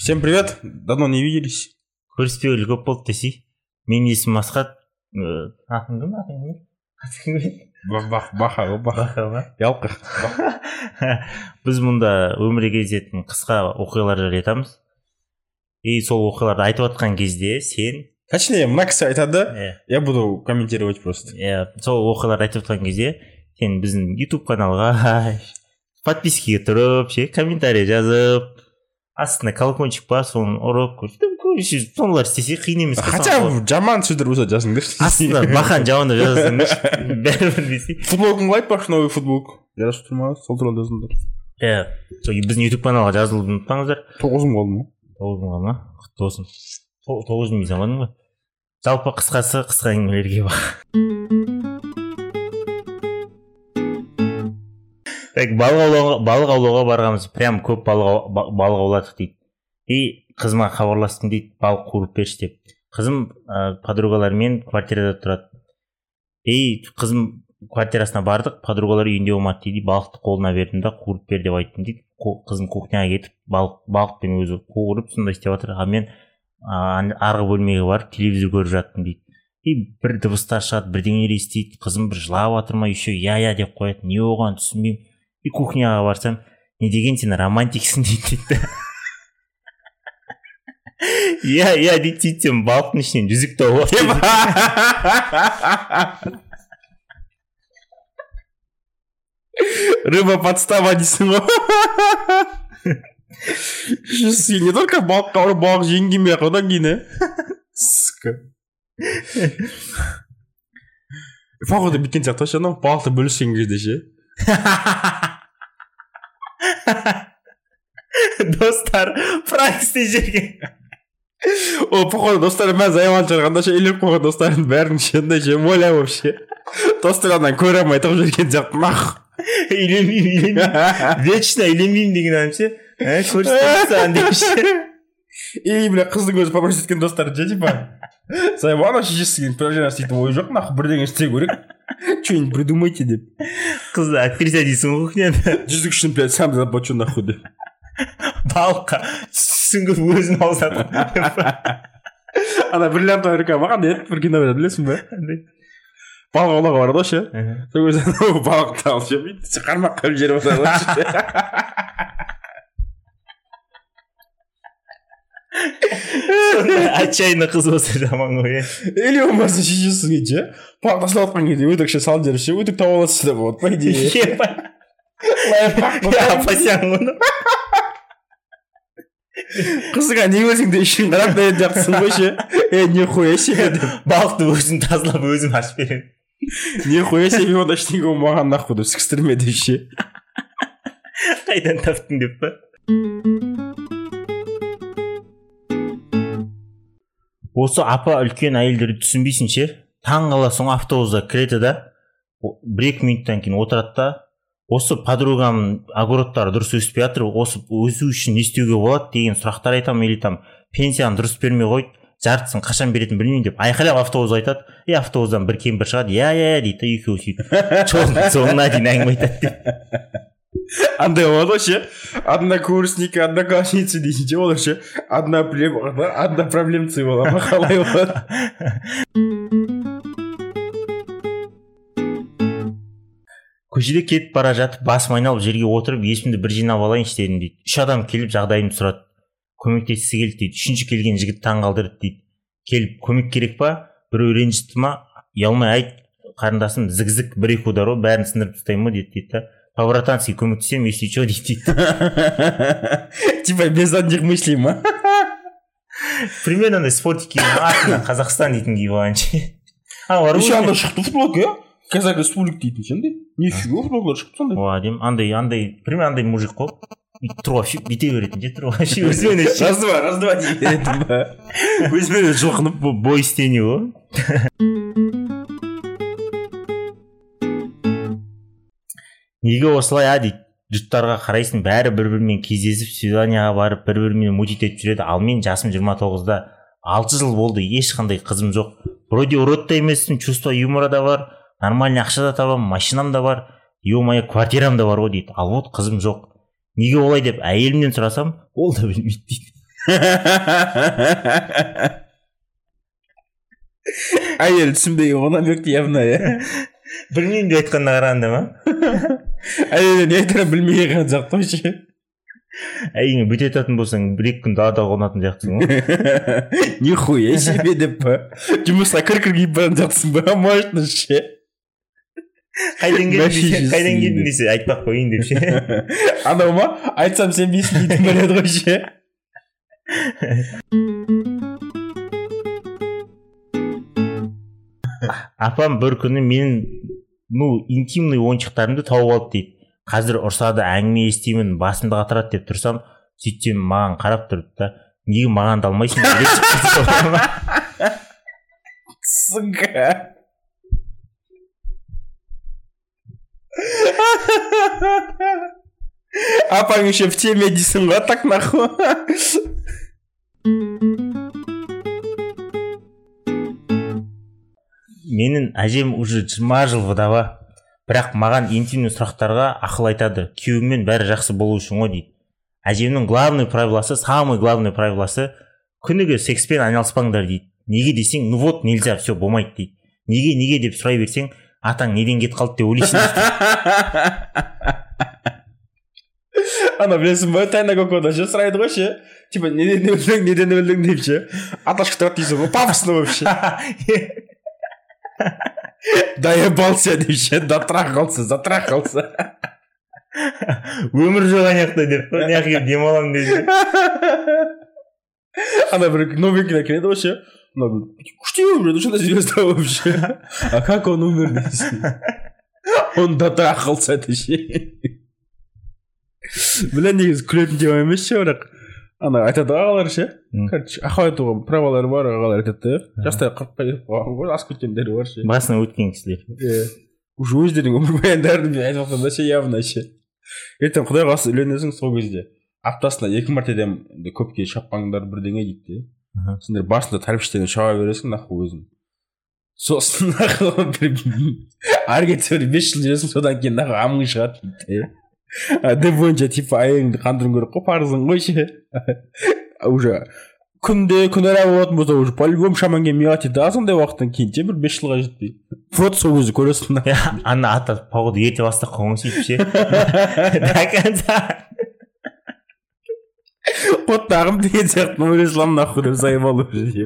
Всем привет, давно не виделись. Көріспеуілі көп болды десей. Менің есімім Асхат. Атың кім? Баха. Ялқы. Біз мұнда өмірге кезетін қысқа оқиғалар жайлы айтамыз. И сол оқиғаларды айтып отқан кезде сен... Точнее, мына кісі айтады, я буду комментировать просто. Сол оқиғаларды айтып отқан кезде сен біздің YouTube каналға подпискаға тұрып, комментарий жазып, астына колокольчик бар, соны ұрып сондайлар істесе қиын емес. Хотя жаман сөздер болса жазыңдаршы. Астына бақан жамандап жазасыңдар. Бәрібір десе. Футболкаңды айтпақшы, новый футболка. Жарасып тұр ма? Сол туралы жазыңдар. Біздің YouTube каналға жазылуды ұмытпаңыздар. 9 мың қалды ма? 9 мың қалды ма? Құтты болсын. 9 мың заманың ба? Жалпы қысқасы қысқа әңгімелерге бар. Балық аулауға барғанбыз, прям көп балық ауладық дейді. И қызыма хабарластым дейді, балық қуырып берші деп. Қызым подругалармен квартирада тұрады. И қызым квартирасына бардық, подругалар үйінде болмады дейді, балықты қолына бердім да қуырып бер деп айттым дейді. Қызым кухняға кетіп балықпен өзі қуырып сондай істеп жатыр. Мен арғы бөлмеге барып телевизор көріп жаттым дейді. И бір дыбыстар шығады, бірдеңелер естиді. Қызым бір жылап жатыр ма, еще я деп қояды. Не оған түсінбеймін. И кухняға барсам, не деген сен романтиксің дейді. Я дейді, сен балықтың ішінен жүзік тауып алып. Рыба подстава дейсің ғой. Не только балыққа ұрып балық жеңген бе, одан кейін, Сука. Походу біткен сияқты ше, балықты бөліскен кезде ше. Достар, практикте жерге. Походу достары мәз айман шығарғанда ше, елеп қойған достарын бәрін шенде ше, моля вообще. Достарынан көре алмай тұрып жүрген сияқты нах. Үйленбеймін. Вечно үйленбеймін деген адам ше. Көрсетіп деп ше. И, бля, қыздың өзі попросит еткен достары же, типа, Саймана шешесіген пражена істейтін ой жоқ, нахуй бірдеңе істеу керек. Что-нибудь придумайте деп. Қызды актриса дейсің ғой кухняда. Жүзік үшін, блядь, сам заплачу нахуй деп. Балыққа сүңгіп өзін алсады. Ана бриллиант америка маған еді, бір кино береді, білесің бе? Балық аулауға барады ше. Сол кезде балықты алып ше, бүйтіп қармақ қойып жіберіп отырады. Отчаянно қыз болса жаман ғой. Или болмаса шешесіге ше, балық тастап отқан кезде өтікше салып жіберіп ше, өтік тауып аласыз деп болады, по идее. Апасяң оны. Қызыға не көрсең де ішін қарап да еді жақсың ғой ше. Нихуя себе деп. Балықты өзін тазалап өзім ашып беремін. Нихуя себе онда ештеңе болмаған нахуй деп сікістірме деп ше. Қайдан таптың деп па? Осы апа үлкен әйелдерді түсінбейсің ше. Таң қаласың автобусда кіреді да, 1-2 минуттан кейін отырады да, осы подругамның огородтары дұрыс өспей жатыр, осы өсу үшін не істеуге болады деген сұрақтар айтамын, или там пенсияны дұрыс бермей қойды, жартысын қашан беретінін білмеймін деп айқайлап автобус айтады. И автобустан бір кемпір шығады, я дейді, екеуі сөйтіп жолдың соңына дейін әңгіме айтады деп. Андай болады ше, однокурсники, одноклассницы дейсің ше, олар ше, одна проблемцы болады, қалай болады. Көшеде кетіп бара жатып, басым айналып жерге отырып, есімді бір жинап алайыншы дедім дейді. 3 адам келіп жағдайымды сұрады. Көмектескісі келді дейді. 3-ші келген жігіт таң қалдырды дейді. Келіп көмек керек па? Біреу ренжітті ма? Ұялмай айт, қарындасым зік-зік 1-2 удар ғой, бәрін сындырып тастаймын ма дейді. По-братански көмектесем, если что дейді. Типа без одних мыслей ма? Примерно спортики атынан Қазақстан дейтін киіп алғаншы. Еще анда шықты футболка, Казак республик дейтін шындай. Нифига футболкалар шықты сондай. Адем, примерно андай мужик қой. Тұрға бүйте беретін же, тұрға өзімен Раз-два дей беретін ба? Өзімен жылқынып бой істене ғой. Неге осылай дейді, жұрттарға қарайсың, бәрі бір-бірімен кездесіп, свиданияға барып, бір-бірімен мутит етіп жүреді, ал мен жасым 29-да, 6 жыл болды, ешқандай қызым жоқ. Вроде урод та емеспін, чувство юмора да бар, нормальный ақша да табам, машинам да бар, ё-моё, квартирам да бар ғой дейді. Ал вот қызым жоқ. Неге олай деп әйелімнен сұрасам, ол да білмейді дейді. Әйел түсінбеген онан бөкті явно, иә. Білмеймін деп айтқанына қарағанда ма? Әйел не айтарын білмеген қан сияқты ғой ше. Егер бүте жататын болсаң, бір-екі күн далада қонатын сияқтысың ғой. Нихуя себе деп па. Жұмысқа кір-кір киіп баратын сияқтысың ба? Можно ше. Қайдан келдің десе, айтпақ қойын деп ше. Анау ма? Айтсам сен бейсін дейтін біледі ғой ше. Апам бір күні менің интимный ойыншықтарымды тауып алды дейді. Қазір ұрсады, әңгіме естимін, басымды қатырады деп тұрсам, сөйтсем маған қарап тұрды да, неге маған да алмайсың деп. Сука. Апаң еще в теме дейсің ғой, так нахуй. Менің әжем уже 20 жыл вдова. Бірақ маған интимный сұрақтарға ақыл айтады. Күйеуіңмен бәрі жақсы болу үшін ғой дейді. Әжемнің самый главный правиласы күніге секспен айналыспаңдар дейді. Неге десең, ну вот нельзя, все болмайды дейді. Неге деп сұрай берсең, атаң неден кет қалды деп ойлайсың. Ана білесің ба, тайна кокода ше сұрайды ғой ше. Типа неден өлдің деп ше. Аташқа тұрады дейсің ғой, пафосно вообще. Доебался деп ше, дотрахался. Өмір жоқ анаяқта деп, неғып демалам деп. Ана бір новенький келеді ғой ше. Күшті өмір, шында звезда вообще. А как он умер дейсің? Он дотрахался деп ше. Білен негізі күлетін тема емес ше, бірақ ана айтады ағалар ше. Ақау айтуға правалары бар ағалар айтады. Жастай 40-қа келіп қалған ғой, ас көткендері бар ше. Басына өткен кісілер. Уже өздерінің өмір баяндарын мен айтып жатқанда ше явно ше. Ертең құдай қаласа үйленесің сол кезде аптасына 2 мәртеден көпке шаппаңдар бірдеңе дейді. Сендер басында тәрбіштен шаба бересің нахуй өзің. Сосын нахуй ары кетсе 5 жыл жүресің, содан кейін нахуй амың шығады дейді. Деп бойынша типа айыңды қандыруың керек қой, парызың ғой ше. Уже күнде күнара болатын болса уже по-любому шаман келмей дейді. Сондай уақыттан кейін бір 5 жылға жетпей. Вот сол кезде көресің. Ана ата погоду ерте бастап қалған сөйтіп ше. До конца. Вот тағым деген сияқты нұрислам нахуй деп заебал уже.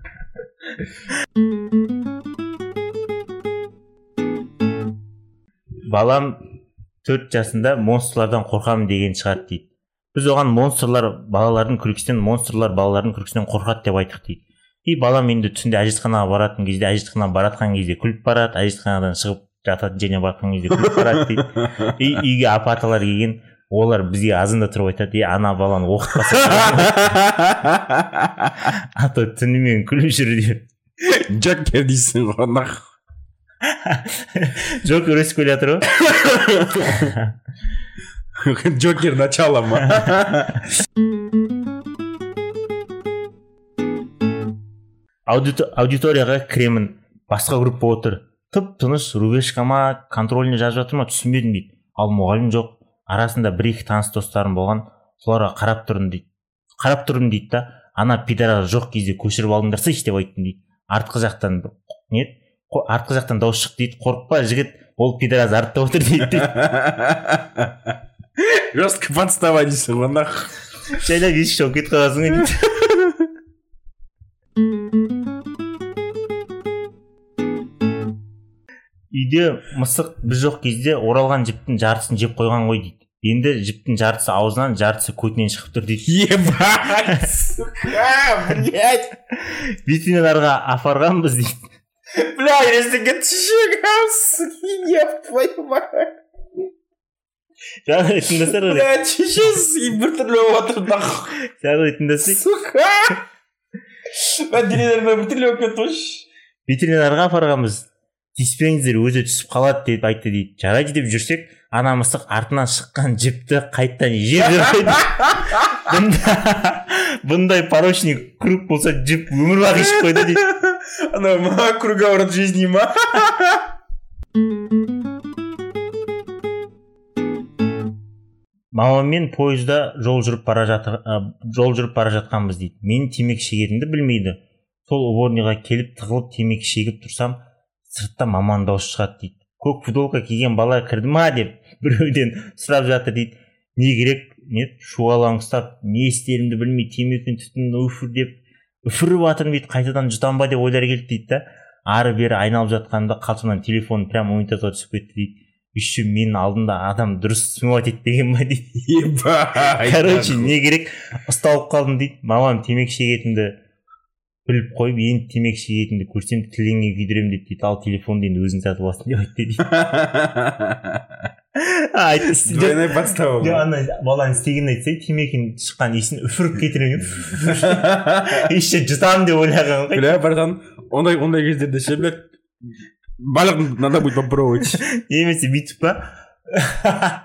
Балам 4 жасында монстрлардан қорқамын деген шығарды дейді. Біз оған балалардың күлкісінен, монстрлар балалардың күлкісінен қорқады деп айттық дейді. И балам енді түсінде әжетханаға баратын кезде, әжетханаға баратқан кезде күліп барады, әжетханадан шығып жататын жеріне баратқан кезде күліп барады дейді. И үйге апа-аталар келген, олар бізге азында тұрып айтады, ана баланы оқытпаса. Ата түнімен күліп жүр деп. Джокер дейсің ғой нахуй. Джокер өсіп келе жатыр ғой. Джокер начало ма. Аудиторияға кіремін, басқа группа отыр. Тып-тыныш рубешкама контрольный жазып жатыр ма, түсінбедім дейді. Ал мұғалім жоқ. Арасында 1-2 таныс достарым болған, соларға қарап тұрдым дейді да, ана пидорас жоқ кезде көшіріп алдыңдарса деп айттым дейді. Артқы жақтан дауыс шықты дейді. Қорықпа жігіт, ол пидорас артта отыр дейді. Жестко подстава дейсің ғой нахуй. Жайлап есік жауып кетіп қаласың дейді. Үйде мысық біз жоқ кезде оралған жіптің жартысын жеп қойған ғой дейді. Енді жіптің жартысы аузынан, жартысы көтінен шығып тұр дейді. Ебать, сука, блядь. Ветеринарға апарғанбыз дейді. Блядь, ресеге түшігім, суки, еп твою мать. Жаңа тыңдасар ғой. Блядь, шешес, бір түрлі отыр нахуй. Жаңа тыңдасай. Сука. Мен денелеріме бір түрлі өп кетті ғой. Ветеринарға апарғанбыз. Тиіспеңіздер, өзі түсіп қалады деп айтты дейді. Жарайды деп жүрсек, ана мысық артынан шыққан жіпті қайттан жеп жүреді. Бұндай порочный круг болса жіп өмір бақи ішіп қойды дейді. Ана круговорот жизни ма? мамаммен пойызда жол жүріп бара жатқанбыз дейді. Мен темекі шегетінді білмейді. Сол уборныйға келіп тығылып темекі шегіп тұрсам, сыртта маманың дауысы шығады дейді. Көк футболка киген бала кірді ма деп біреуден сұрап жатыр дейді. Не керек? Шуалаңыстап, не істерімді білмей темекінің түтінін үфіріп жатырмын дейді. Қайтадан жұтам ба деп ойлар келді дейді да. Ары бері айналып жатқанда қалтымнан телефон прям унитазға түсіп кетті дейді. Еще менің алдымда адам дұрыс снимать етпеген ба дейді. Короче, не керек? Ұсталып қалдым дейді. Мамам темекі шегетінді біліп қойып, енді темекі шегетінді көрсем тіліңе күйдіремін дейді. Ал телефонды енді өзің сатып аласың деп айтты дейді. Двойной подстава. Баланың істегенін айтса, темекінің шыққан иісін үфіріп кетіремін. Еще жұтамын деп ойлаған ғой. Бля, братан, ондай кездерде ше, блядь, барлығын надо будет попробовать. Немесе бүйтіп па?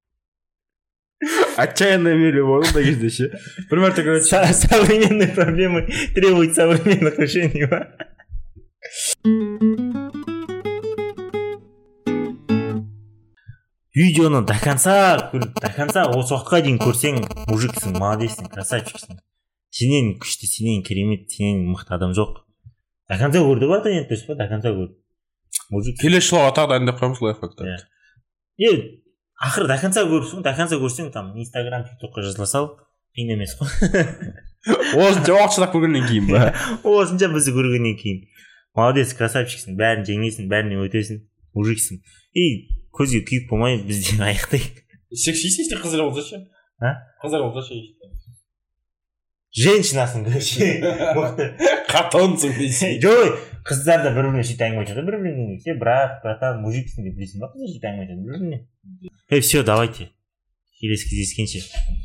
Отчаянная мере болды ондай кезде ше. Бір мәрте короче. Современные проблемы требуют современных решений ба? Видеоны до конца осы уақытқа дейін көрсең, мужиксің, молодецсің, красавчиксің. Сенен күшті, сенен керемет, сенен мықты адам жоқ. До конца көрді бар да енді па? До конца көрді. Келесі жылға тағы дайындап қоямыз лайфхактарды. Ақыры до конца көрсең, там Инстаграм, ТикТокқа жазыла сал, қиын емес қой. Осынша уақыт шыдап көргеннен кейін ба? Осынша бізді көргеннен кейін. Молодец, красавчиксің, бәрін жеңесің, бәрінен өтесің, мужиксің. Көзге күйік болмай бізде аяқтайық. Сексист қыздар болса ше? Қыздар болса ше? Женщинасың, короче. Мықты. Қатонсың дейсің. Жой, қыздар да бір-біріне сөйтіп әңгіме айтады, бір-біріне. Сен брат, братан, мужиксің деп білесің ба? Қыздар сөйтіп әңгіме айтады бір-біріне. Все, давайте. Келесі кездескенше.